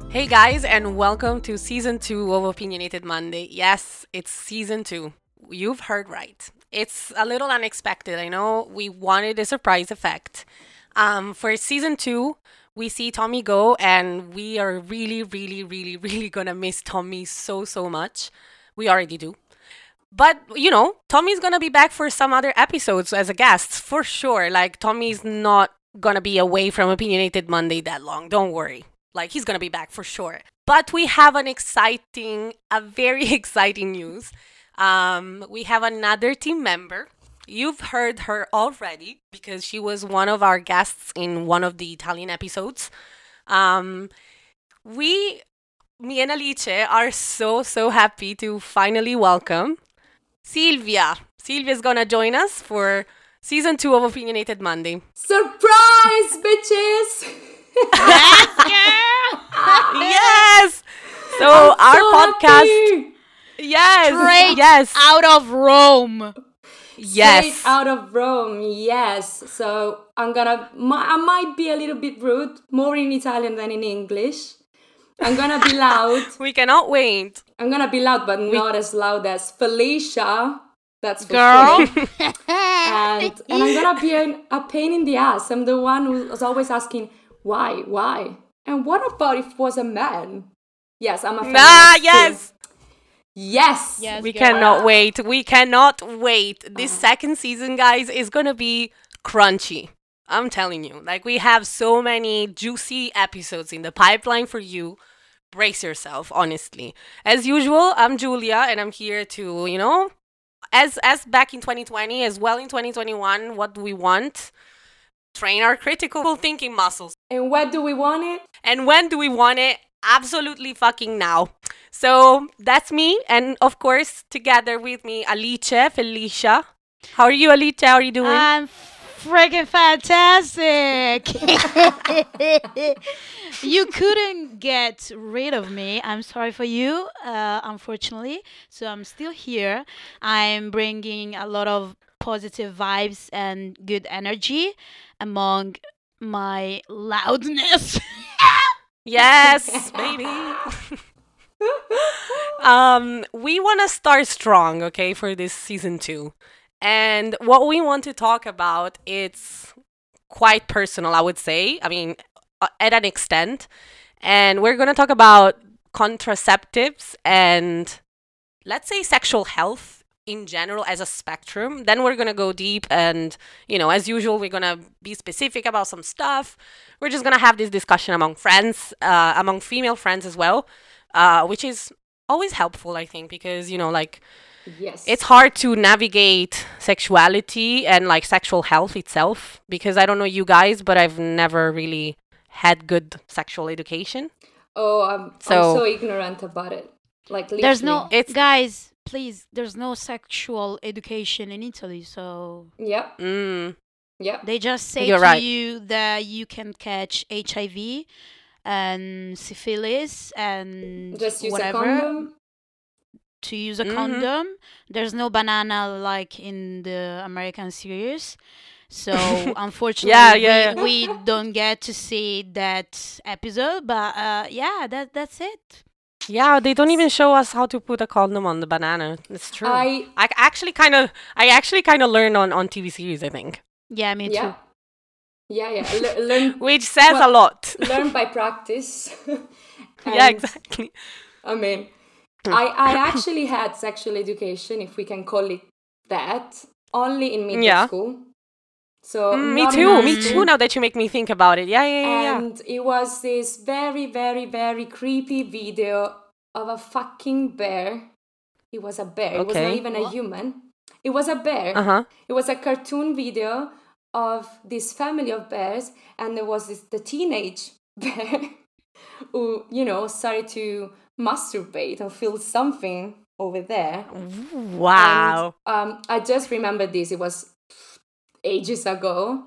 Hey guys, and welcome to season 2 of Opinionated Monday. Yes, it's season 2. You've heard right. It's a little unexpected. I know we wanted a surprise effect. For season 2, we see Tommy go, and we are really gonna miss Tommy so much. We already do. But, Tommy's gonna be back for some other episodes as a guest, for sure. Like, Tommy's not gonna be away from Opinionated Monday that long. Don't worry. Like, he's gonna be back for sure. But we have a very exciting news. We have another team member. You've heard her already because she was one of our guests in one of the Italian episodes. Um, we, me and Alice, are so happy to finally welcome Silvia. Silvia's gonna join us for season 2 of Opinionated Monday. Surprise, bitches! Yes! So I'm our so podcast. happy. Yes. Yes. Out of Rome. Yes. Straight out of Rome, yes. So I might be a little bit rude, more in Italian than in English. I'm gonna be loud. We cannot wait. I'm gonna be loud, but not as loud as Felicia. That's for Girl. sure. And I'm gonna be a pain in the ass. I'm the one who was always asking, why? And what about if it was a man? Yes, I'm a feminist too. Yes. Yes. We girl. cannot wait. We cannot wait. This second season, guys, is gonna be crunchy. I'm telling you. Like, we have so many juicy episodes in the pipeline for you. Brace yourself, honestly. As usual, I'm Julia, and I'm here to, as back in 2020, as well in 2021, what do we want? Train our critical thinking muscles. And what do we want it? And when do we want it? Absolutely fucking now. So that's me, and of course, together with me, Alice, Felicia. How are you, Alice? How are you doing? I'm freaking fantastic. You couldn't get rid of me. I'm sorry for you, unfortunately. So I'm still here. I'm bringing a lot of positive vibes and good energy among my loudness. Yes, baby. We want to start strong, okay, for this season 2. And what we want to talk about, it's quite personal, I would say. I mean, at an extent. And we're going to talk about contraceptives and, let's say, sexual health in general as a spectrum. Then we're going to go deep and, as usual, we're going to be specific about some stuff. We're just going to have this discussion among friends, among female friends as well, which is always helpful, I think, because, Yes. it's hard to navigate sexuality and like sexual health itself because I don't know you guys, but I've never really had good sexual education. Oh, I'm so ignorant about it. Like, There's literally. It's guys, please, there's no sexual education in Italy. So Yep. mm, Yep. they just say You're to right. you that you can catch HIV and syphilis and Just use whatever. a condom. To use a Mhm. condom. There's no banana like in the American series. So unfortunately, Yeah. we don't get to see that episode. But that's it. Yeah, they don't even show us how to put a condom on the banana. It's true. I I actually kind of learned on TV series, I think, Yeah, me yeah. too. Yeah. Learn which says a Well, lot. learn by practice. Yeah, And, exactly. I mean, I actually had sexual education, if we can call it that, only in middle Yeah. school. So Me not in too. high Me school. too. Now that you make me think about it, yeah. And it was this very creepy video of a fucking bear. It was a bear. It was not Okay. even a human. It was a bear. Uh-huh. It was a cartoon video of this family of bears, and there was the teenage bear who, started to masturbate and feel something over there. Wow. And I just remember this. It was ages ago.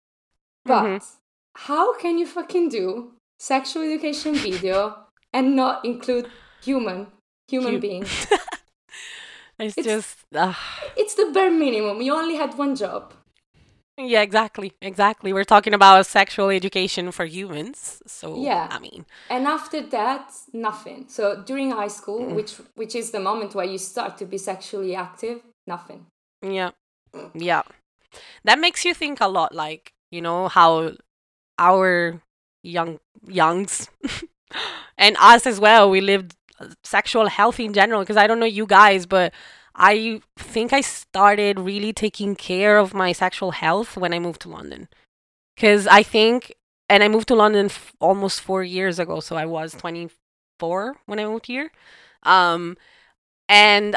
But how can you fucking do sexual education video and not include human beings? It's It's- just It's the bare minimum. You only had one job. Yeah, exactly. We're talking about sexual education for humans. So, Yeah. I mean, And after that, nothing. So during high school, mm, which is the moment where you start to be sexually active, nothing. yeah, yeah. That makes you think a lot, like, how our youngs and us as well, we lived sexual health in general. Because I don't know you guys, but I think I started really taking care of my sexual health when I moved to London. Because I think, and I moved to London almost 4 years ago, so I was 24 when I moved here. Um, and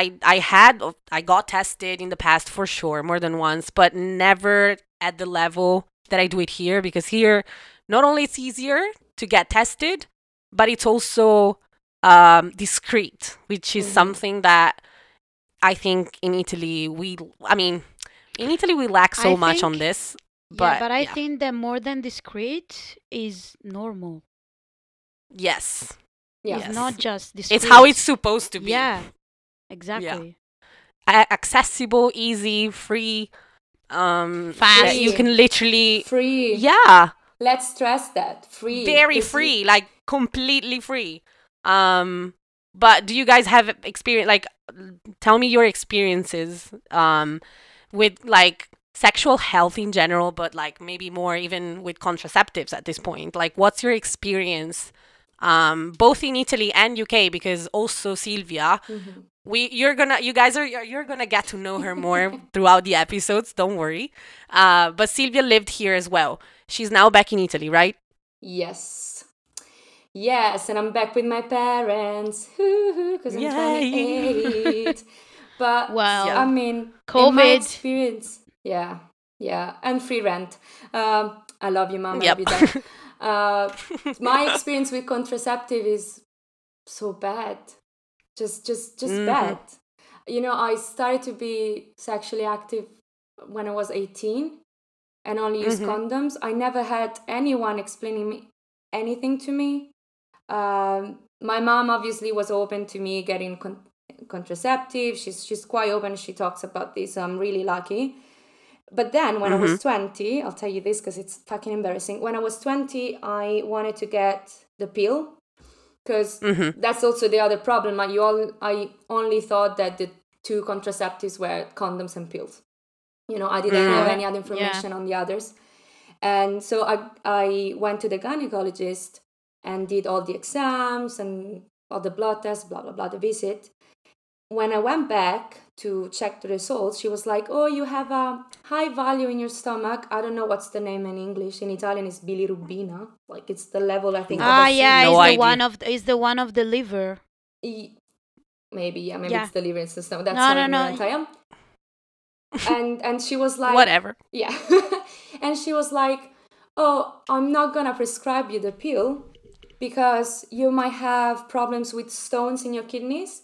I got tested in the past for sure, more than once, but never at the level that I do it here. Because here, not only it's easier to get tested, but it's also discreet, which is Mm-hmm. something that I think in Italy I mean, in Italy we lack I so much on think, this. yeah, But but I yeah, think that more than discreet is normal. yes, Yeah. It's not yes, just it's how it's discreet. supposed to be. Yeah, Yeah, exactly. accessible, easy, free. That you Fast. Free. can literally, Free. yeah, Let's stress that. Free. very Because you. free, like completely free. Um, but do you guys have experience? Like, tell me your experiences with like sexual health in general, but like maybe more even with contraceptives at this point. Like, what's your experience? Both in Italy and UK, because also Silvia, Mhm. you guys are you're gonna get to know her more throughout the episodes. Don't worry. But Silvia lived here as well. She's now back in Italy, right? Yes. Yes, and I'm back with my parents, because I'm Yay! 28. But Yeah. I Well, mean, in my COVID. experience, yeah, yeah, and free rent. I love you, mom. I love Yep. you, dad. Uh, my experience with contraceptive is so bad, just Mhm. bad. I started to be sexually active when I was 18 and only used Mhm. condoms. I never had anyone explaining anything to me. My mom obviously was open to me getting contraceptive. She's quite open. She talks about this. So I'm really lucky. But then when I was Mhm. 20, I'll tell you this because it's fucking embarrassing. When I was 20, I wanted to get the pill because Mhm. that's also the other problem. I only thought that the two contraceptives were condoms and pills. I didn't have Mm. True. any other Yeah. information on the others. And so I went to the gynecologist and did all the exams and all the blood tests, blah, blah, blah, the visit. When I went back to check the results, she was like, "Oh, you have a high value in your stomach. I don't know what's the name in English. In Italian, it's bilirubina. Like it's the level, I think, of Ah, yeah, No idea. is the one of the liver. e- maybe, yeah, maybe Yeah. it's the liver system. That's No, how no, no. ignorant I am. And she was like, Whatever. yeah. And she was like, "Oh, I'm not gonna prescribe you the pill because you might have problems with stones in your kidneys.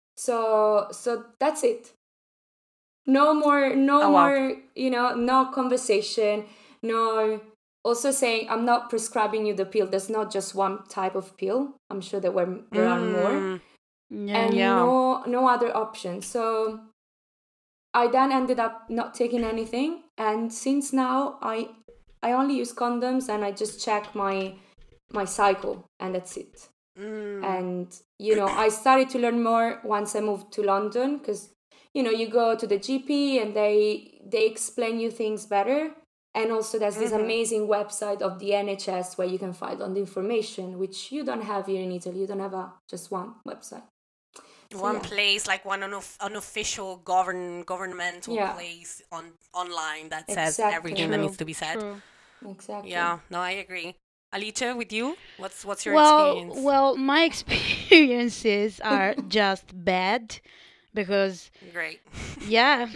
So that's it. No more, no Oh wow. more, no conversation, no. Also saying, I'm not prescribing you the pill. There's not just one type of pill. I'm sure there are more, Mm. Yeah. and Yeah. no other option. So I then ended up not taking anything, and since now I only use condoms and I just check my cycle, and that's it. Mm. And I started to learn more once I moved to London because you go to the GP and they explain you things better. And also there's this Mhm. amazing website of the NHS where you can find all the information, which you don't have here in Italy. You don't have just one website. So One yeah. place, like one unofficial governmental Yeah, place online that says everything exactly. that needs True. to be said. True. Exactly. Yeah, no, I agree. Alicia, with you, what's your Well, experience? well, my experiences are just bad because, Great. yeah,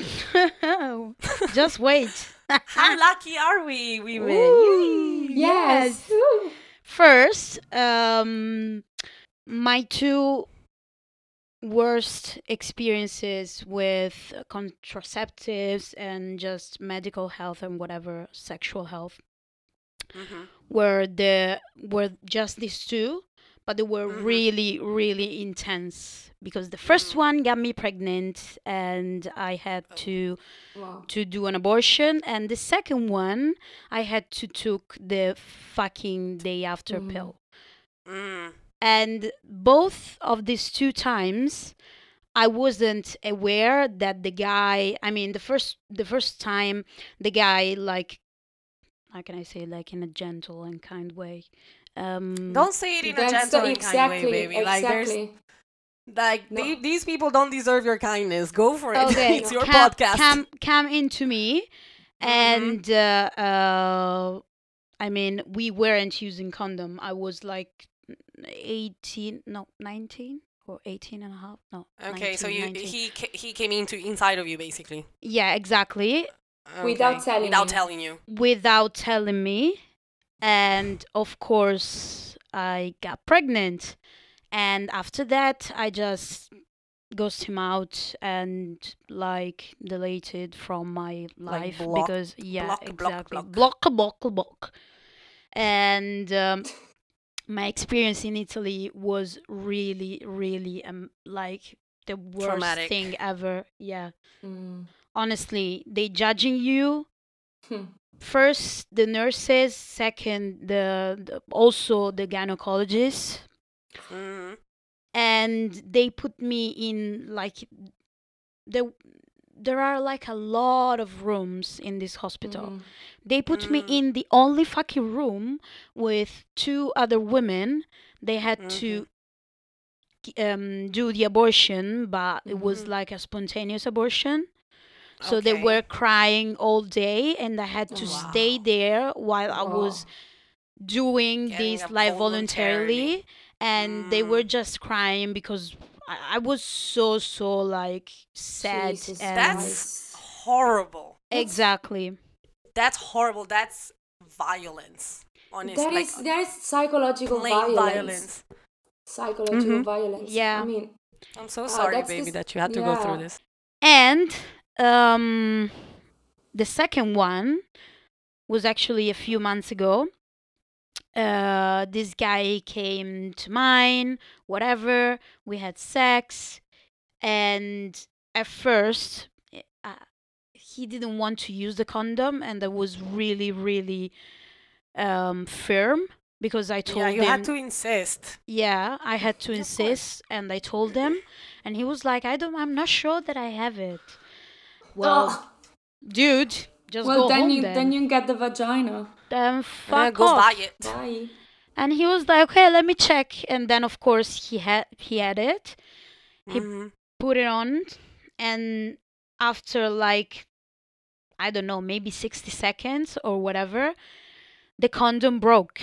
just wait. How lucky are we, women? Ooh, Yay! Yes. yes. First, my two worst experiences with contraceptives and just medical health and whatever sexual health Mhm. were just these two. but they were really, really intense because the first one got me pregnant and I had to do an abortion, and the second one I had to took the fucking day after pill. And both of these two times I wasn't aware that the guy, I mean, the first time the guy, like, how can I say, like, in a gentle and kind way. Don't say it in a gentle and kind way, baby. Like, Exactly. These people don't deserve your kindness. Go for it. Okay, It's your podcast. Come into me, and I mean, we weren't using condom. I was like 19 or 18 and a half. No. Okay, 19, so 19. he came inside of you, basically. Yeah, exactly. Okay. Without telling you. Without telling me. And of course, I got pregnant. And after that, I just ghosted him out and like deleted from my life because exactly block. And my experience in Italy was really, really like the worst traumatic thing ever. Yeah. Honestly, they judging you. First, the nurses. Second, the also the gynecologists. And they put me in like there are like a lot of rooms in this hospital. They put me in the only fucking room with two other women. They had to do the abortion, but it was like a spontaneous abortion. So they were crying all day, and I had to stay there while I was doing this like voluntarily. And they were just crying because I was so like sad. Jesus and That's horrible. Exactly. That's horrible. That's violence. Honestly, That is psychological violence. Psychological violence. Yeah. I mean, I'm so sorry, baby, that you had to go through this. And the second one was actually a few months ago. This guy came to mine, whatever. We had sex, and at first, he didn't want to use the condom, and I was really, really firm because I told him. Yeah, you had to insist. Yeah, I had to insist, and I told him, and he was like, I'm not sure that I have it. Well, dude, just go home then. Then you get the vagina. Then fuck go off. buy it. Bye. And he was like, okay, let me check. And then, of course, he had it. He put it on. And after, like, I don't know, maybe 60 seconds or whatever, the condom broke.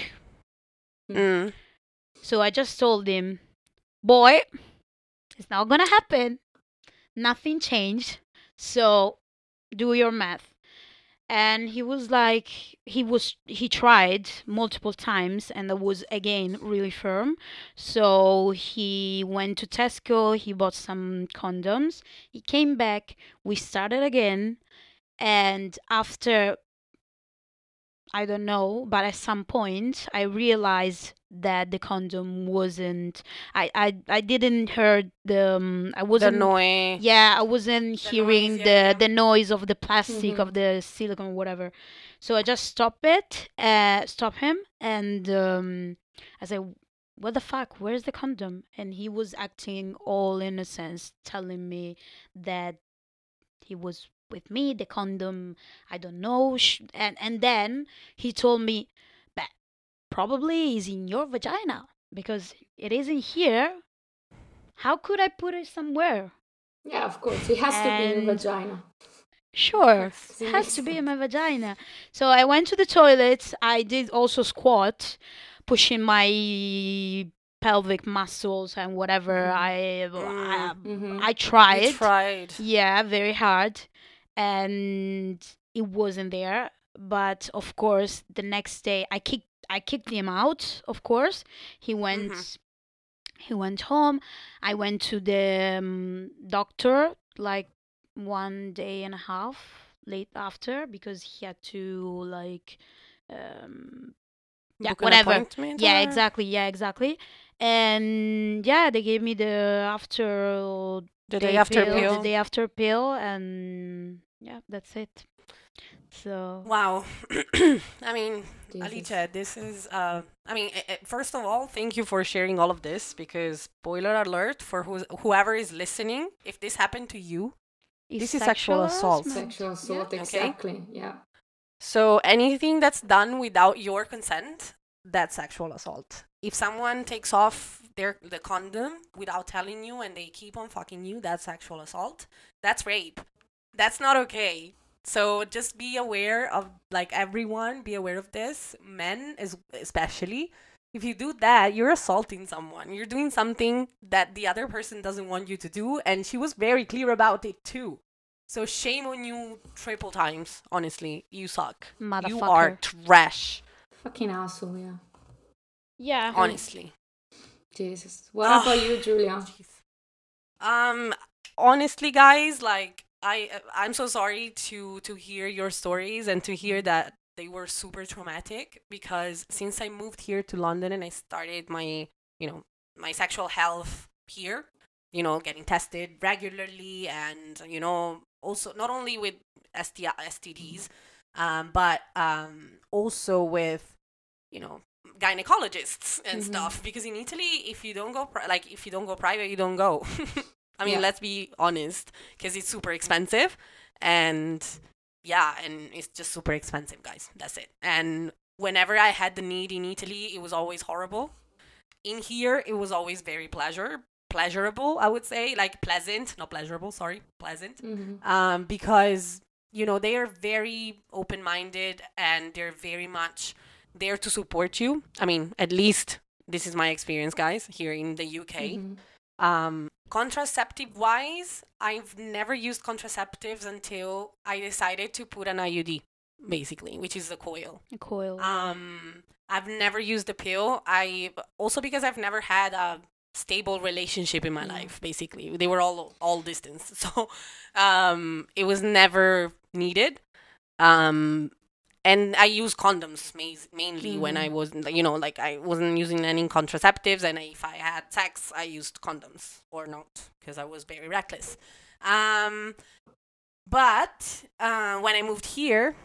So I just told him, boy, it's not going to happen. Nothing changed. So do your math. And he was like, he tried multiple times, and I was again really firm. So he went to Tesco, he bought some condoms, he came back, we started again, and after, I don't know, but at some point I realized that the condom wasn't, I didn't hear I wasn't, the noise. Yeah, I wasn't hearing the noise of the plastic, of the silicone, whatever. So I just stopped him, and I said, what the fuck, where's the condom? And he was acting all innocent, telling me that he was with me, the condom, I don't know, and then he told me, but probably is in your vagina because it isn't here. How could I put it somewhere? Yeah, of course, it has to be in your vagina. Sure, it has to be in my vagina. So I went to the toilet. I did also squat, pushing my pelvic muscles and whatever. I tried. You tried. Yeah, very hard. And it wasn't there. But of course, the next day I kicked him out. Of course, he went home. I went to the doctor like 1 day and a half late after because he had to like Yeah, book an whatever. appointment? Yeah, Or? exactly. Yeah, exactly. And yeah, they gave me the after The day day after pill, the pill. day after pill, and yeah, that's it. So Wow. I mean, Jesus. Alicia, this is, I mean, first of all, thank you for sharing all of this because, spoiler alert, for whoever is listening, if this happened to you, it's this is sexual assault. Sexual assault, Okay. exactly. Yeah. So anything that's done without your consent, that's sexual assault. If someone takes off the condom without telling you and they keep on fucking you, that's sexual assault. That's rape. That's not okay. So just be aware of, like, everyone, be aware of this. Men especially. If you do that, you're assaulting someone. You're doing something that the other person doesn't want you to do, and she was very clear about it too. So shame on you triple times, honestly. You suck. You are motherfucker. trash, Fucking asshole, yeah. Yeah. honestly. Jesus. What about you, Julia? Jeez. Honestly, guys, like, I'm so sorry to hear your stories and to hear that they were super traumatic, because since I moved here to London and I started my, my sexual health here, getting tested regularly, and also not only with STDs, but also with, gynecologists and stuff, because in Italy, if you don't go if you don't go private, you don't go. I mean, Yeah. let's be honest, because it's super expensive, and yeah, and it's just super expensive, guys. That's it. And whenever I had the need in Italy, it was always horrible. In here, it was always very pleasurable, I would say, like pleasant, not pleasurable, sorry, pleasant. Because they are very open-minded, and they're very much there to support you. I mean, at least this is my experience, guys, here in the UK. Contraceptive wise, I've never used contraceptives until I decided to put an IUD, basically, which is the coil. A coil. I've never used a pill. I also, because I've never had a stable relationship in my life, basically. They were all distance. So it was never needed. And I use condoms mainly when I was, like, I wasn't using any contraceptives, and if I had sex, I used condoms or not, because I was very reckless. But when I moved here,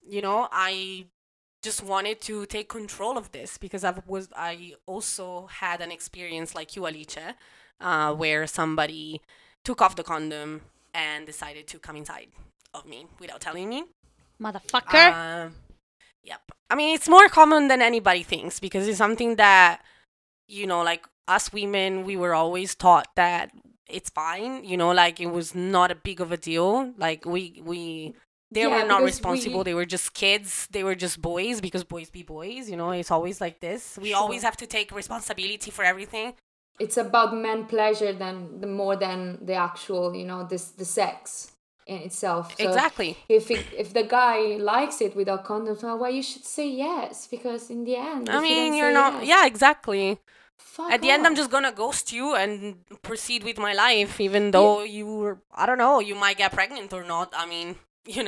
I just wanted to take control of this, because I also had an experience like you, Alice, where somebody took off the condom and decided to come inside of me without telling me. Motherfucker. Yep. I mean, it's more common than anybody thinks, because it's something that, like, us women, we were always taught that it's fine, like, it was not a big of a deal. Like, they were not responsible. They were just kids. They were just boys, because boys be boys, it's always like this. We always have to take responsibility for everything. It's about men pleasure more than the actual, the sex in itself. So Exactly. If the guy likes it without condoms, well, you should say yes, because in the end, I mean, you're not. Yes, yeah, exactly. Fuck At the end, I'm off. just gonna ghost you and proceed with my life, even though I don't know, you might get pregnant or not. I mean,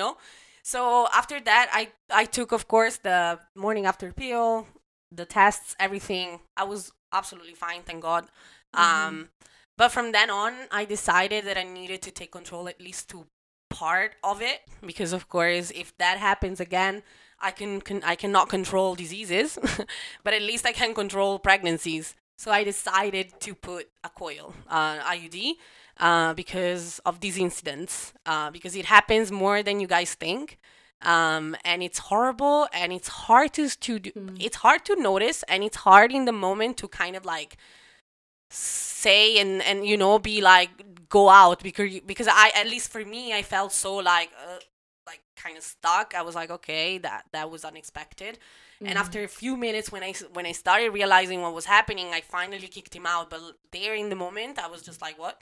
So after that, I took, of course, the morning after pill, the tests, everything. I was absolutely fine, thank God. But from then on, I decided that I needed to take control, at least to part of it, because, of course, if that happens again, I cannot control diseases, but at least I can control pregnancies. So I decided to put a coil, IUD, because of these incidents, because it happens more than you guys think, and it's horrible, and it's hard to do. It's hard to notice, and it's hard in the moment to kind of like say and be like, go out, because I, at least for me, I felt so like kind of stuck. I was like, okay, that was unexpected. And after a few minutes, when I started realizing what was happening, I finally kicked him out. But there in the moment, I was just like, what?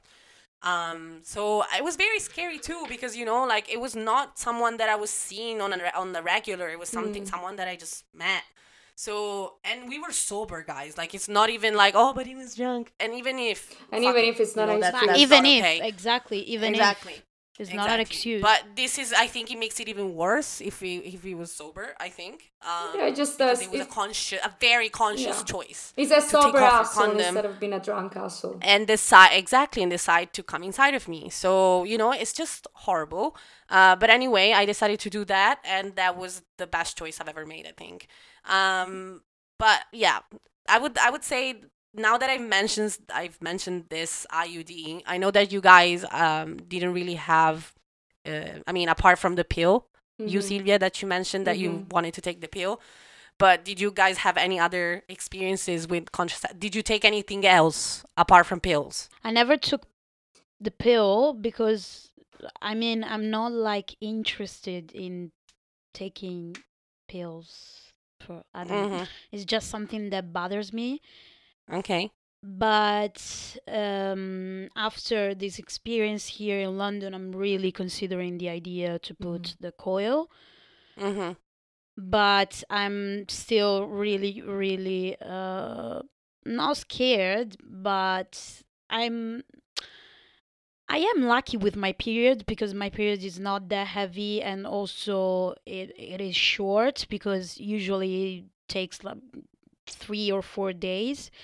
So it was very scary too, because like, it was not someone that I was seeing on the regular. It was someone that I just met. So, and we were sober, guys. Like, it's not even like, oh, but he was drunk. And even if it's not that's even not if, okay. exactly, even Exactly. It's not an Exactly. excuse. But this is, I think it makes it even worse if he was sober, I think. Yeah, it just Because does. it was a very conscious Yeah. choice It's a to take sober off your asshole condom instead of being a drunk asshole. and decide to come inside of me. So, it's just horrible. But anyway, I decided to do that, and that was the best choice I've ever made, I think. But yeah, I would say, now that I've mentioned this IUD. I know that you guys didn't really have. I mean, apart from the pill, you, Mhm. Sylvia, that you mentioned that you wanted to take the pill. But did you guys have any other experiences with contraceptives? Did you take anything else apart from pills? I never took the pill because I mean I'm not like interested in taking pills for I don't know. Mm-hmm. It's just something that bothers me. Okay. But after this experience here in London, I'm really considering the idea to put the coil. Mm-hmm. But I'm still really, really not scared, but I'm I am lucky with my period because my period is not that heavy, and also it is short because usually it takes like 3 or 4 days.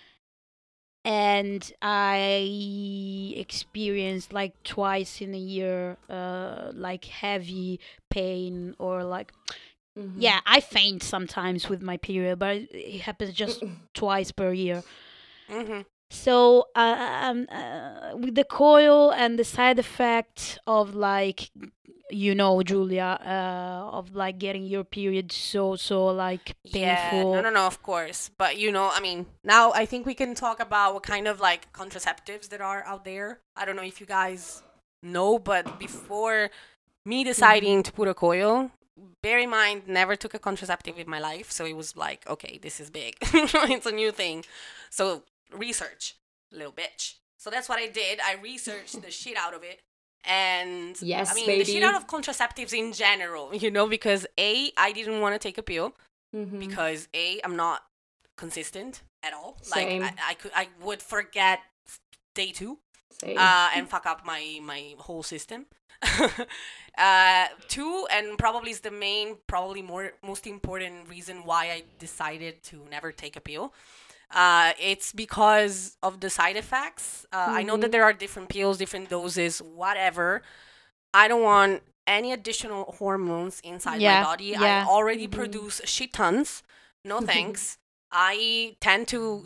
And I experienced like twice in a year like heavy pain or like yeah, I faint sometimes with my period, but it happens just twice per year. Mm-hmm. So with the coil and the side effect of like Julia, of like getting your period so like Yeah, no, painful. no, no, of course. But I mean, now I think we can talk about what kind of like contraceptives that are out there. I don't know if you guys know, but before me deciding to put a coil, bear in mind, never took a contraceptive in my life. So it was like, okay, this is big. It's a new thing. So research, little bitch. So that's what I did. I researched the shit out of it. And Yes, I mean, the shit baby. out of contraceptives in general, because I didn't want to take a pill because I'm not consistent at all. Same. Like I would forget day 2 Same. and fuck up my whole system. 2, and probably is the probably most important reason why I decided to never take a pill. It's because of the side effects. I know that there are different pills, different doses, whatever. I don't want any additional hormones inside my body. I already produce shit tons. No thanks. I tend to,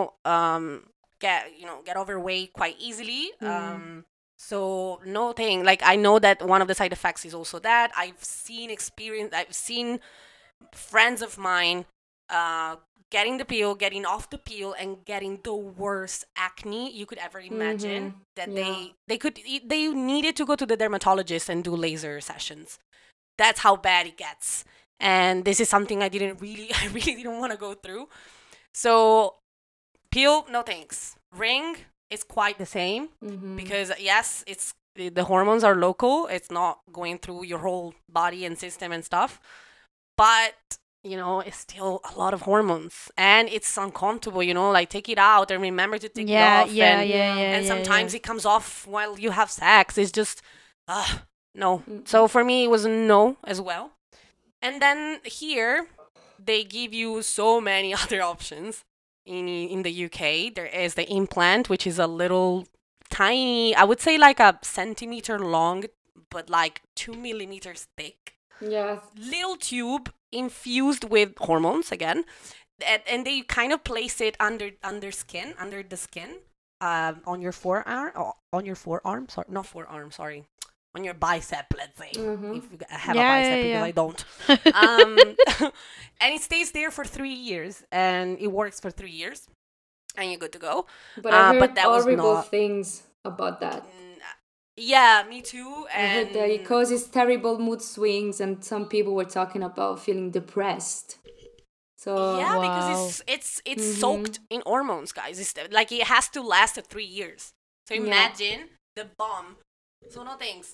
get overweight quite easily. So no thing. Like, I know that one of the side effects is also that I've seen friends of mine getting the pill, getting off the pill, and getting the worst acne you could ever imagine. That they needed to go to the dermatologist and do laser sessions. That's how bad it gets. And this is something I really didn't want to go through. So pill, no thanks. Ring is quite the same because yes, the hormones are local. It's not going through your whole body and system and stuff. But it's still a lot of hormones, and it's uncomfortable. Like, take it out and remember to take it off. And sometimes it comes off while you have sex. It's just, no. So for me, it was a no as well. And then here, they give you so many other options. In the UK, there is the implant, which is a little tiny, I would say like a centimeter long, but like 2 millimeters thick. Yes. Little tube infused with hormones again, and they kind of place it under the skin, on your forearm, sorry, not forearm, sorry, on your bicep, let's say, if you have a bicep, because I don't. And it stays there for 3 years, and it works for 3 years, and you're good to go. But I heard that was horrible not things about that. Yeah, me too. I heard that it causes terrible mood swings, and some people were talking about feeling depressed. So yeah, because it's soaked in hormones, guys. It's like, it has to last 3 years. So imagine the bomb. So no thanks.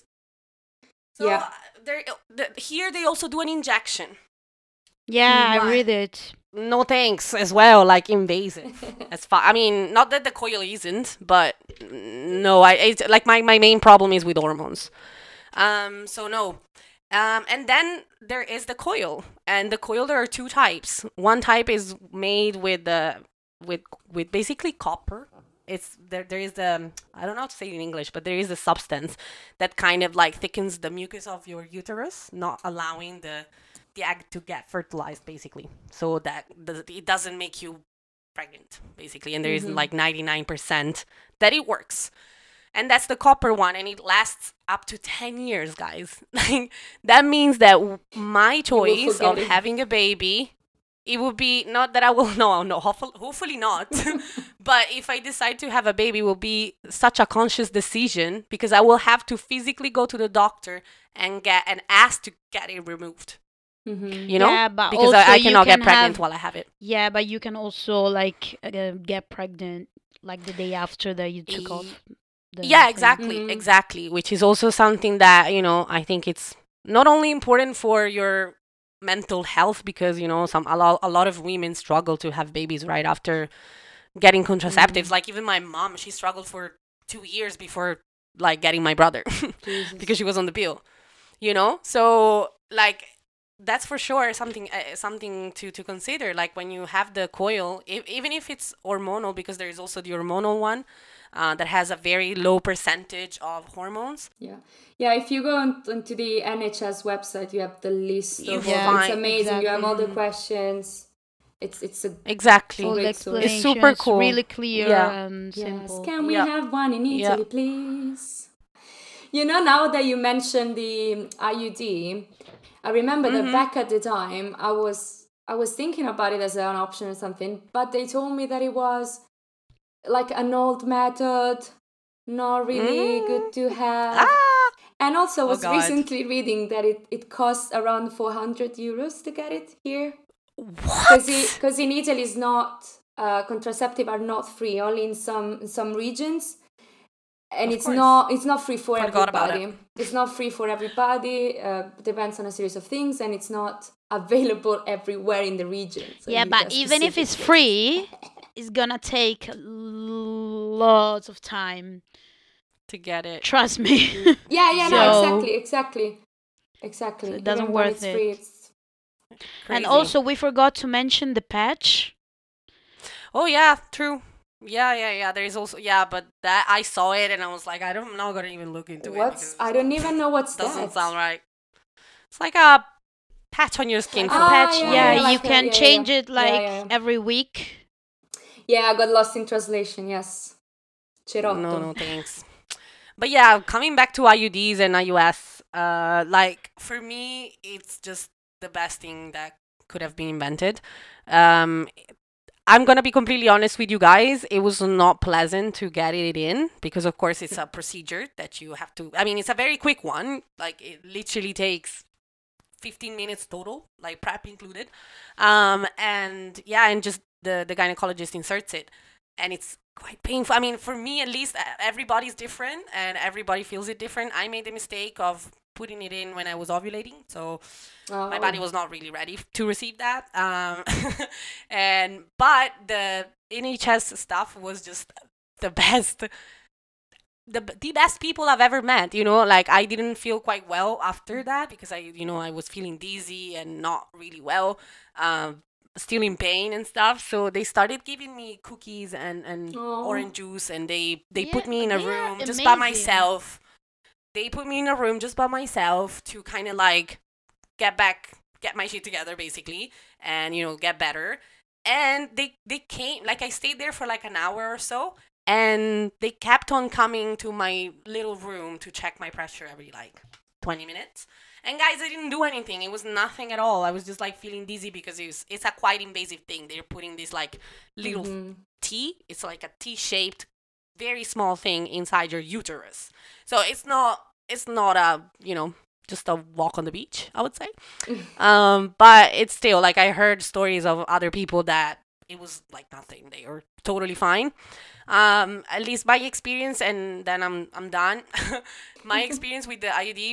So here they also do an injection. Yeah, I read it. no thanks as well, like invasive. As far, I mean, not that the coil isn't, but no, it's like my main problem is with hormones. So no. And then there is the coil, and the coil there are two types. One type is made with the with basically copper. It's there is the I don't know how to say it in English, but there is a substance that kind of like thickens the mucus of your uterus, not allowing the egg to get fertilized, basically, so that it doesn't make you pregnant, basically. And there is like 99% that it works, and that's the copper one, and it lasts up to 10 years, guys. Like, that means that my choice of having a baby, it would be not that I will no hopefully not. But if I decide to have a baby, it will be such a conscious decision, because I will have to physically go to the doctor and ask to get it removed. You know, Yeah, but because also I you cannot get can pregnant have while I have it. yeah, but you can also like get pregnant like the day after that you took off the Yeah, thing. exactly, which is also something that, I think it's not only important for your mental health, because a lot of women struggle to have babies right after getting contraceptives. Like, even my mom, she struggled for 2 years before like getting my brother because she was on the pill. So like, that's for sure something to consider. Like, when you have the coil, even if it's hormonal, because there is also the hormonal one that has a very low percentage of hormones. Yeah, if you go onto the NHS website, you have the list You of all. It's find- amazing. You have all the questions. It's a Exactly. All the great source. It's explanation super is cool. really clear Yeah. and Yes. simple. Can we Yeah. have one in Yeah. Italy, please? Now that you mentioned the IUD, I remember that back at the time, I was thinking about it as an option or something, but they told me that it was like an old method, not really good to have. And also, I was God. recently reading that it costs around 400 euros to get it here. What? Because in Italy, it's not contraceptive are not free, only in some regions. And Of it's course. not free for Forgot about everybody. It's not free for everybody. Depends on a series of things, and it's not available everywhere in the region. So Yeah, you but need a even if it's specific free, it's gonna take lots of time. To get it. Trust me. Yeah, no, So- exactly. So it doesn't Even when worth it's free, it. it's And Crazy. also, we forgot to mention the patch. Oh yeah, true. Yeah. There is also, but that I saw it and I was like, I'm not gonna even look into it. because I don't even know what's doesn't that. sound right. It's like a patch on your skin. Like for a patch, yeah, you like can yeah. change it like Yeah. every week. Yeah, I got lost in translation. Yes, Cerotto. No, thanks. But yeah, coming back to IUDs and IUS, like, for me, it's just the best thing that could have been invented. I'm gonna be completely honest with you guys. It was not pleasant to get it in, because of course it's a procedure that you have to. I mean, it's a very quick one. Like, it literally takes 15 minutes total, like prep included. And just the gynecologist inserts it, and it's quite painful. I mean, for me at least, everybody's different and everybody feels it different. I made the mistake of putting it in when I was ovulating, so my body was not really ready to receive that. But the NHS stuff was just the best. The best people I've ever met, like, I didn't feel quite well after that, because I was feeling dizzy and not really well, still in pain and stuff. So they started giving me cookies and orange juice, and they put me in a they are room just by amazing. myself. They put me in a room just by myself to kind of like get my shit together, basically, and get better. And they came, like, I stayed there for like an hour or so, and they kept on coming to my little room to check my pressure every like 20 minutes. And guys, I didn't do anything. It was nothing at all. I was just like feeling dizzy, because it's a quite invasive thing. They're putting this like little T. It's like a T-shaped, very small thing inside your uterus. So it's not a just a walk on the beach, I would say. But it's still, like, I heard stories of other people that it was like nothing. They were totally fine. At least my experience, and then I'm done. My experience with the IUD was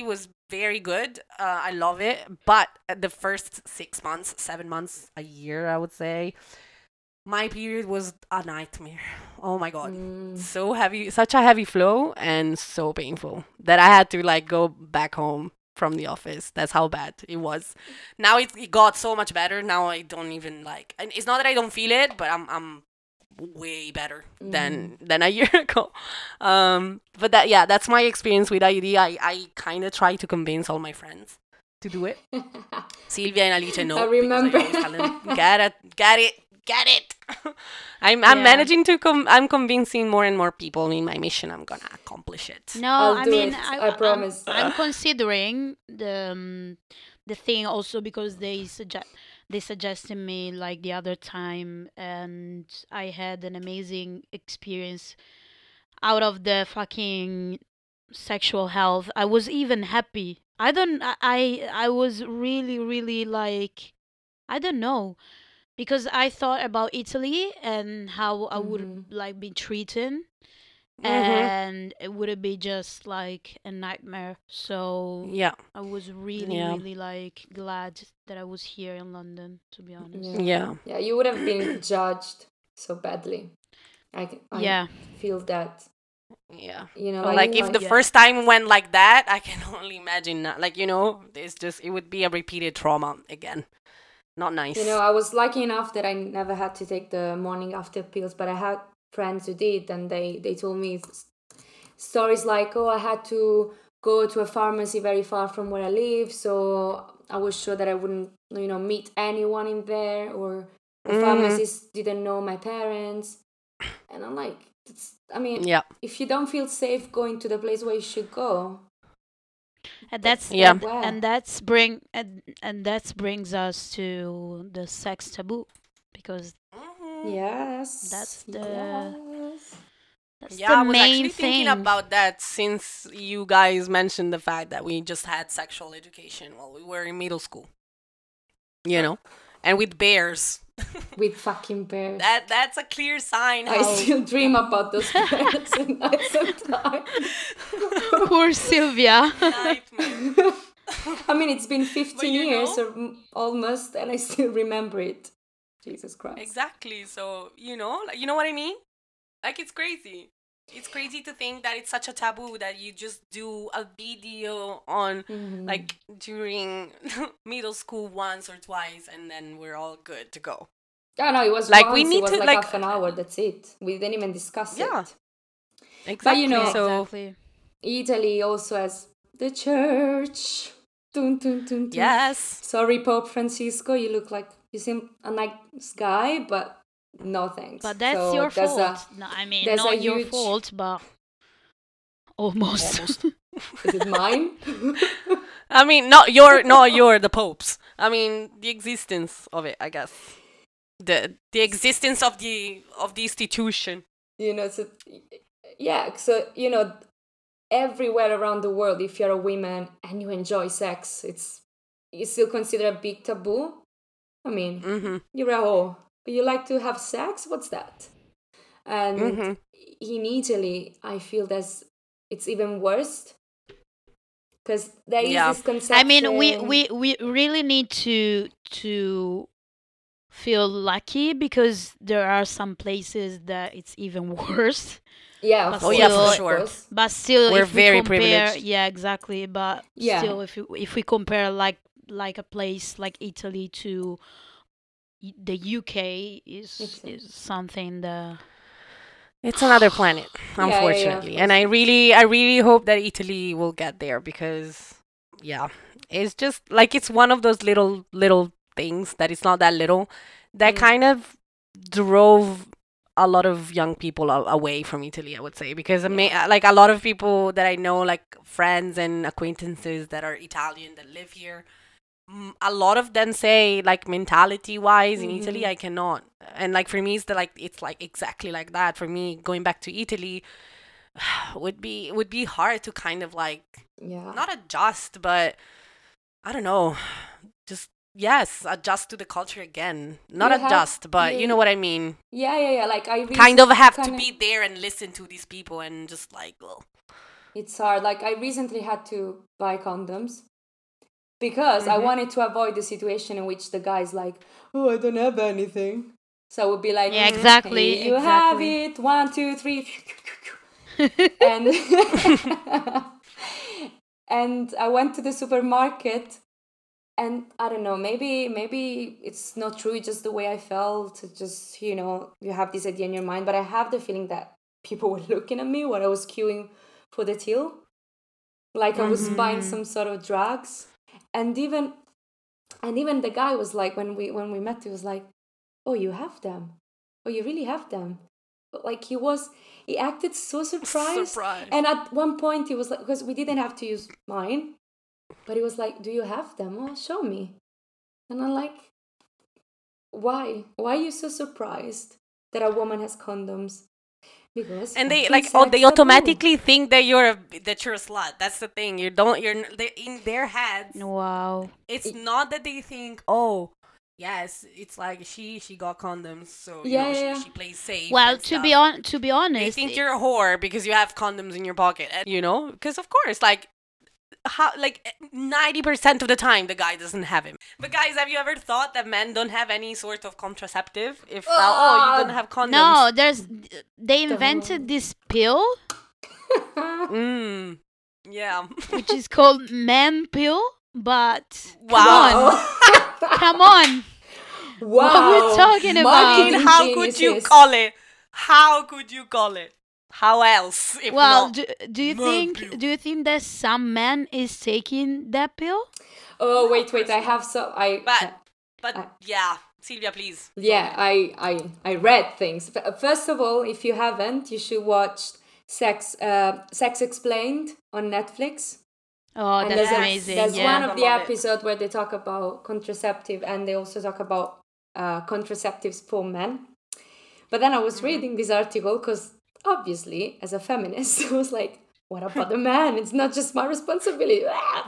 very good. I love it. But the first 6 months, 7 months, a year, I would say, my period was a nightmare. Oh my God. So heavy, such a heavy flow and so painful that I had to like go back home from the office. That's how bad it was. Now it got so much better. Now I don't even like, and it's not that I don't feel it, but I'm way better than a year ago. But that's my experience with IUD. I kind of try to convince all my friends to do it. Sylvia and Alice no. I remember. Because I always tell them, get it. I'm managing to I'm convincing more and more people in my mission. I'm gonna accomplish it. No, I'll I do mean, it. I promise. I'm considering the thing also because they suggested me like the other time, and I had an amazing experience out of the fucking sexual health. I was even happy. I was really, really like, I don't know, because I thought about Italy and how I would like be treated, and it would be just like a nightmare. So Yeah. I was really, really like glad that I was here in London, to be honest. Yeah. Yeah, you would have been judged so badly. I feel that. Yeah. You know, like if the first time went like that, I can only imagine not, like, you know, it would be a repeated trauma again. Not nice. You know, I was lucky enough that I never had to take the morning after pills, but I had friends who did, and they told me stories like, oh, I had to go to a pharmacy very far from where I live, so I was sure that I wouldn't, you know, meet anyone in there, or the pharmacist didn't know my parents. And I'm like, if you don't feel safe going to the place where you should go, and that brings us to the sex taboo, because that's the I was main actually thinking about that since you guys mentioned the fact that we just had sexual education while we were in middle school. You know, and with bears. With fucking bears. That's a clear sign. I still dream about those bears and nights and times. Poor Sylvia. I mean, it's been 15 years or almost, and I still remember it. Jesus Christ. Exactly. So, you know what I mean? Like, it's crazy. It's crazy to think that it's such a taboo that you just do a video on, like, during middle school once or twice, and then we're all good to go. Oh, no, it was like once. It was like half an hour. That's it. We didn't even discuss it. Exactly. But, you know, Italy also has the church. Dun, dun, dun, dun. Yes. Sorry, Pope Francisco. You seem a nice guy, but no thanks. But that's your fault. No, I mean, not your fault, but almost. Is it mine? I mean, not your the Pope's. I mean, the existence of it, I guess. The existence of the institution. You know, so you know, everywhere around the world, if you're a woman and you enjoy sex, it's still considered a big taboo. I mean, you're a hoe, but you like to have sex? What's that? And in Italy, I feel it's even worse, because there is this conception. I mean, we really need to feel lucky, because there are some places that it's even worse. Yeah, for sure. But still, we're if very we compare, privileged. Yeah, exactly. But still, if we compare like a place like Italy to the UK, is something that it's another planet, unfortunately. And I really hope that Italy will get there, because it's just like, it's one of those little things that it's not that little that kind of drove a lot of young people away from Italy, I would say, because like a lot of people that I know, like friends and acquaintances that are Italian that live here, a lot of them say, like, mentality wise in Italy, I cannot. And like for me, it's like exactly like that. For me, going back to Italy would be hard to kind of like not adjust, but I don't know, just adjust to the culture again. Not adjust, but you know what I mean. Yeah. Like I really kind of have to be there and listen to these people and just like, well, It's hard. Like, I recently had to buy condoms because I wanted to avoid the situation in which the guy's like, oh, I don't have anything. So I would be like, Yeah, exactly. hey, you have it. 1, 2, 3. And and I went to the supermarket, and I don't know, maybe it's not true, it's just the way I felt. It's just, you have this idea in your mind, but I have the feeling that people were looking at me when I was queuing for the till, like I was buying some sort of drugs. And even the guy was like, when we met, he was like, oh, you have them? Oh, you really have them? Like, he acted so surprised. And at one point he was like, because we didn't have to use mine, but he was like, do you have them? Oh, show me. And I'm like, why are you so surprised that a woman has condoms? Because they they automatically think that you're a slut. That's the thing. They're in their heads. Wow. It's not that they think, oh, yes, it's like she got condoms, so she plays safe. Well, to be honest, they think you're a whore because you have condoms in your pocket, and, because of course, like, how, like 90% of the time the guy doesn't have him. But guys, have you ever thought that men don't have any sort of contraceptive? If you don't have condoms? No, they invented this pill. Yeah. Which is called man pill, but wow. Come on. Wow. What are we talking about? How could you call it? How could you call it? How else? If well, not do you think that some man is taking that pill? Oh, wait, I have some. Yeah, Silvia, please. Yeah, I read things. First of all, if you haven't, you should watch Sex Explained on Netflix. Oh, and that's amazing. There's one of the episodes where they talk about contraceptive, and they also talk about contraceptives for men. But then I was reading this article because obviously, as a feminist, I was like, what about the man? It's not just my responsibility.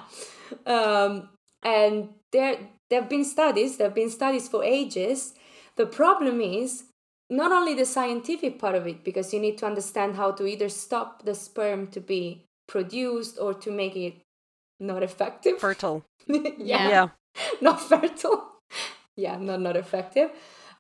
And there have been studies for ages. The problem is not only the scientific part of it, because you need to understand how to either stop the sperm to be produced or to make it not effective. Fertile. yeah. Not fertile. Yeah, not effective.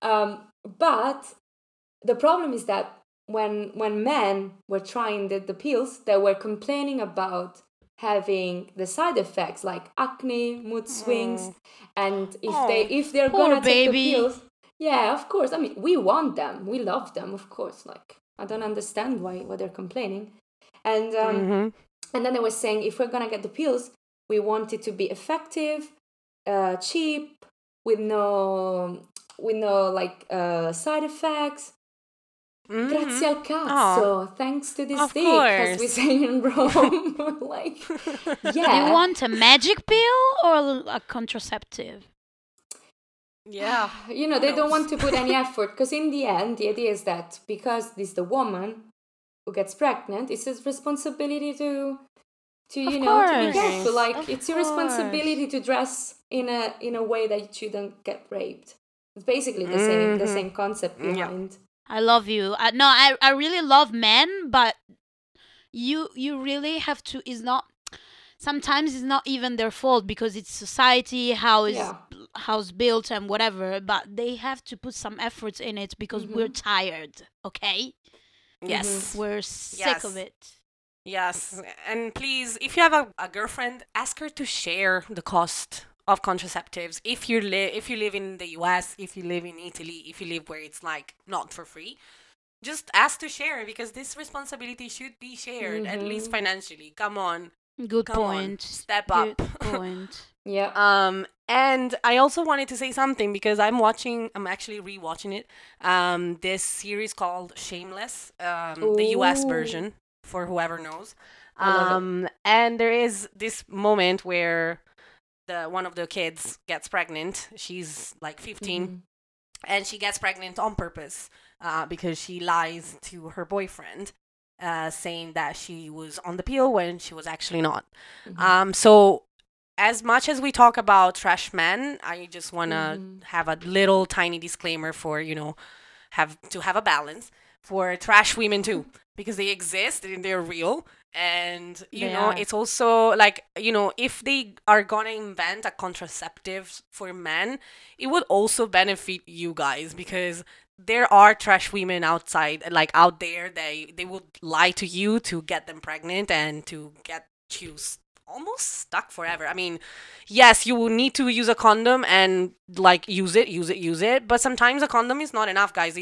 But the problem is that when men were trying the pills, they were complaining about having the side effects like acne, mood swings, and if they're gonna take the pills, yeah, of course. I mean, we want them, we love them, of course. Like, I don't understand why they're complaining, and and then they were saying if we're gonna get the pills, we want it to be effective, cheap, with no side effects. Grazie al cazzo, thanks to this dick, as we say in Rome. Like, yeah. You want a magic pill or a contraceptive? Yeah. They don't want to put any effort, because in the end, the idea is that because this is the woman who gets pregnant, it's his responsibility to to be careful. Like, it's your responsibility to dress in a way that you don't get raped. It's basically the same concept behind. Yeah. I love you. I really love men, but you really have to. Sometimes it's not even their fault, because it's society, how's built and whatever. But they have to put some efforts in it, because we're tired. Okay. Yes. We're sick of it. Yes, and please, if you have a girlfriend, ask her to share the cost of contraceptives. If you live in the US, if you live in Italy, if you live where it's like not for free, just ask to share, because this responsibility should be shared, at least financially. Come on. Good point. Step up. Good point. Yeah. And I also wanted to say something, because I'm actually rewatching it. This series called Shameless, the US version, for whoever knows. And there is this moment where one of the kids gets pregnant. She's like 15, and she gets pregnant on purpose, because she lies to her boyfriend, saying that she was on the pill when she was actually not. So as much as we talk about trash men, I just want to have a little tiny disclaimer for, have a balance for trash women too, because they exist and they're real. And, They are. it's also like, if they are gonna invent a contraceptive for men, it would also benefit you guys, because there are trash women outside, like out there, they would lie to you to get them pregnant and to get you almost stuck forever. I mean, yes, you will need to use a condom and like use it, but sometimes a condom is not enough, guys.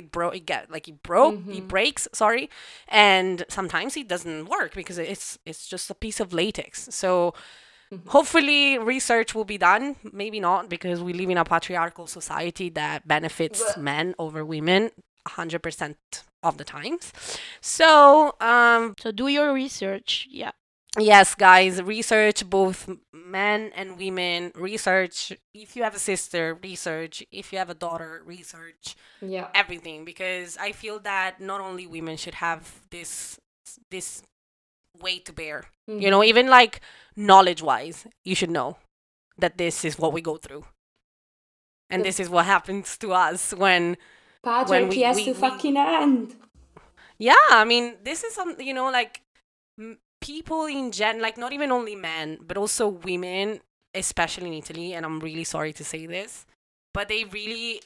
It breaks, sorry, and sometimes it doesn't work because it's just a piece of latex. So hopefully research will be done. Maybe not, because we live in a patriarchal society that benefits men over women 100% of the times. So So do your research. Yeah. yes, guys, research both men and women. Research if you have a sister, research if you have a daughter, research Yeah. everything, because I feel that not only women should have this weight to bear. Even like knowledge-wise, you should know that this is what we go through. And this is what happens to us when Patriarchy has to fucking end. Yeah, I mean, this is like people in like not even only men, but also women, especially in Italy, and I'm really sorry to say this, but they really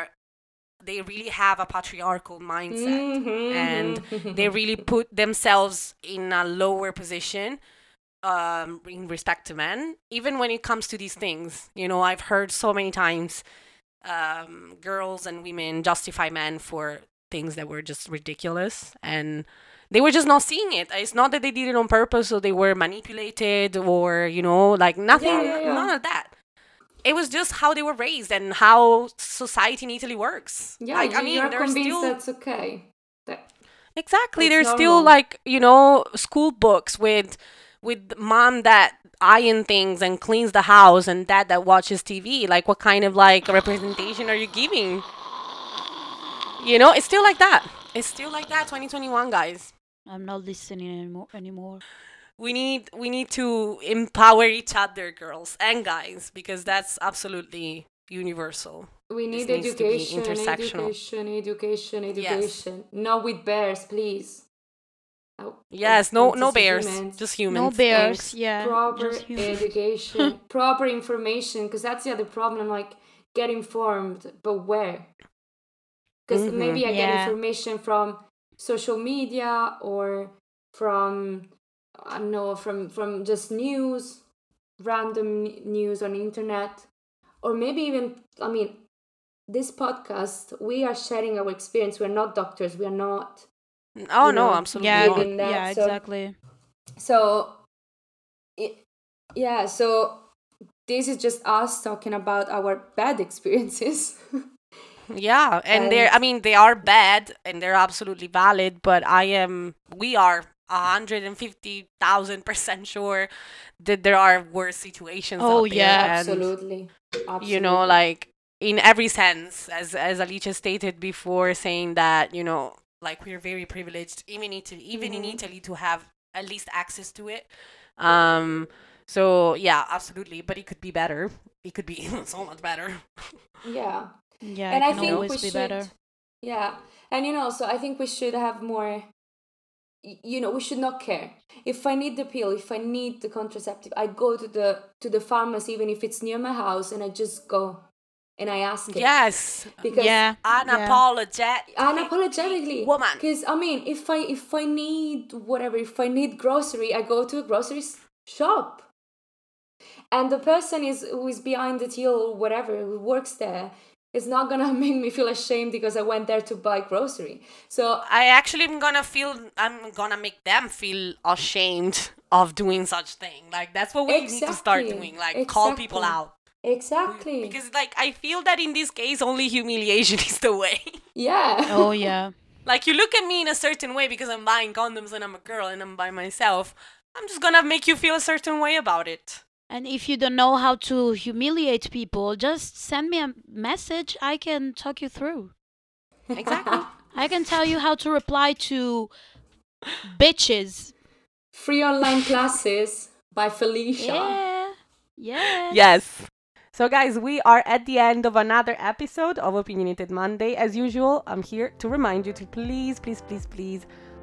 have a patriarchal mindset, and they really put themselves in a lower position in respect to men, even when it comes to these things. I've heard so many times girls and women justify men for things that were just ridiculous, and they were just not seeing it. It's not that they did it on purpose or they were manipulated or, like nothing, none of that. It was just how they were raised and how society in Italy works. Yeah, like, you're convinced that's okay. Exactly. It's There's normal. still like, school books with mom that iron things and cleans the house and dad that watches TV. Like, what kind of like representation are you giving? It's still like that. It's still like that, 2021, guys. I'm not listening anymore. We need to empower each other, girls and guys, because that's absolutely universal. We need This needs to be education, intersectional. education. Yes. Not with bears, please. Yes, no bears, humans. just humans. No bears, Thanks. yeah. Proper just humans. education, proper information, because that's the other problem. Like, get informed, but where? Because maybe I get information from social media or from, I don't know, from just news, random news on the internet, or maybe even, I mean, this podcast, we are sharing our experience. We're not doctors. We are not. Oh no, absolutely not. Yeah, exactly. So this is just us talking about our bad experiences. Yeah, and they are bad and they're absolutely valid, but we are 150,000% sure that there are worse situations out there. Yeah, absolutely. Like in every sense, as Alicia stated before, saying that, like we're very privileged, even in Italy, to have at least access to it. So yeah, absolutely, but it could be better. It could be so much better. Yeah. Yeah, and I think always be better. Yeah, and so I think we should have more. We should not care. If I need the pill, if I need the contraceptive, I go to the pharmacy, even if it's near my house, and I just go and I ask it. Yes, because unapologetically, woman. Because I mean, if I need whatever, if I need grocery, I go to a grocery shop, and the person who is behind the till or whatever, who works there, is not gonna make me feel ashamed because I went there to buy grocery. So I actually I'm gonna make them feel ashamed of doing such thing. Like, that's what we need to start doing. Like, call people out. Exactly. Because like I feel that in this case only humiliation is the way. Yeah. Oh yeah. Like, you look at me in a certain way because I'm buying condoms and I'm a girl and I'm by myself. I'm just gonna make you feel a certain way about it. And if you don't know how to humiliate people, just send me a message. I can talk you through. Exactly. I can tell you how to reply to bitches. Free online classes by Felicia. Yeah. Yes. Yes. So guys, we are at the end of another episode of Opinionated Monday. As usual, I'm here to remind you to please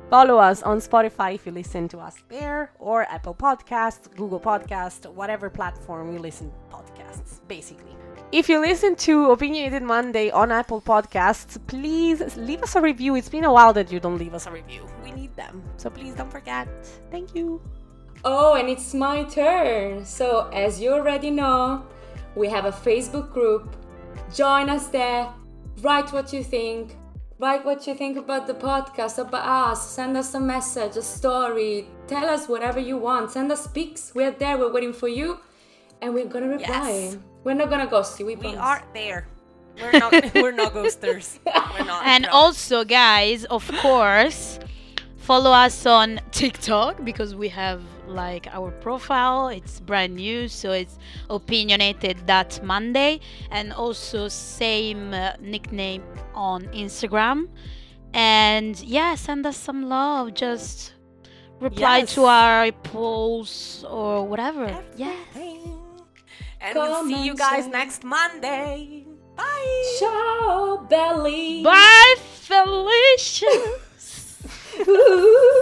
Follow us on Spotify if you listen to us there, or Apple Podcasts, Google Podcasts, whatever platform you listen to podcasts, basically. If you listen to Opinionated Monday on Apple Podcasts, please leave us a review. It's been a while that you don't leave us a review. We need them. So please don't forget. Thank you. Oh, and it's my turn. So as you already know, we have a Facebook group. Join us there. Write what you think. Write what you think about the podcast, about us. Send us a message, a story. Tell us whatever you want. Send us pics. We're there. We're waiting for you. And we're going to reply. Yes. We're not going to ghost you. We are there. We're not ghosters. We're not. And also, guys, of course, follow us on TikTok because we have like our profile. It's brand new, so it's opinionated.monday, and also same nickname on Instagram. And yeah, send us some love. Just reply to our posts or whatever. Yeah. And we'll see you guys next Monday. Bye. Ciao, Belly. Bye, Felicia.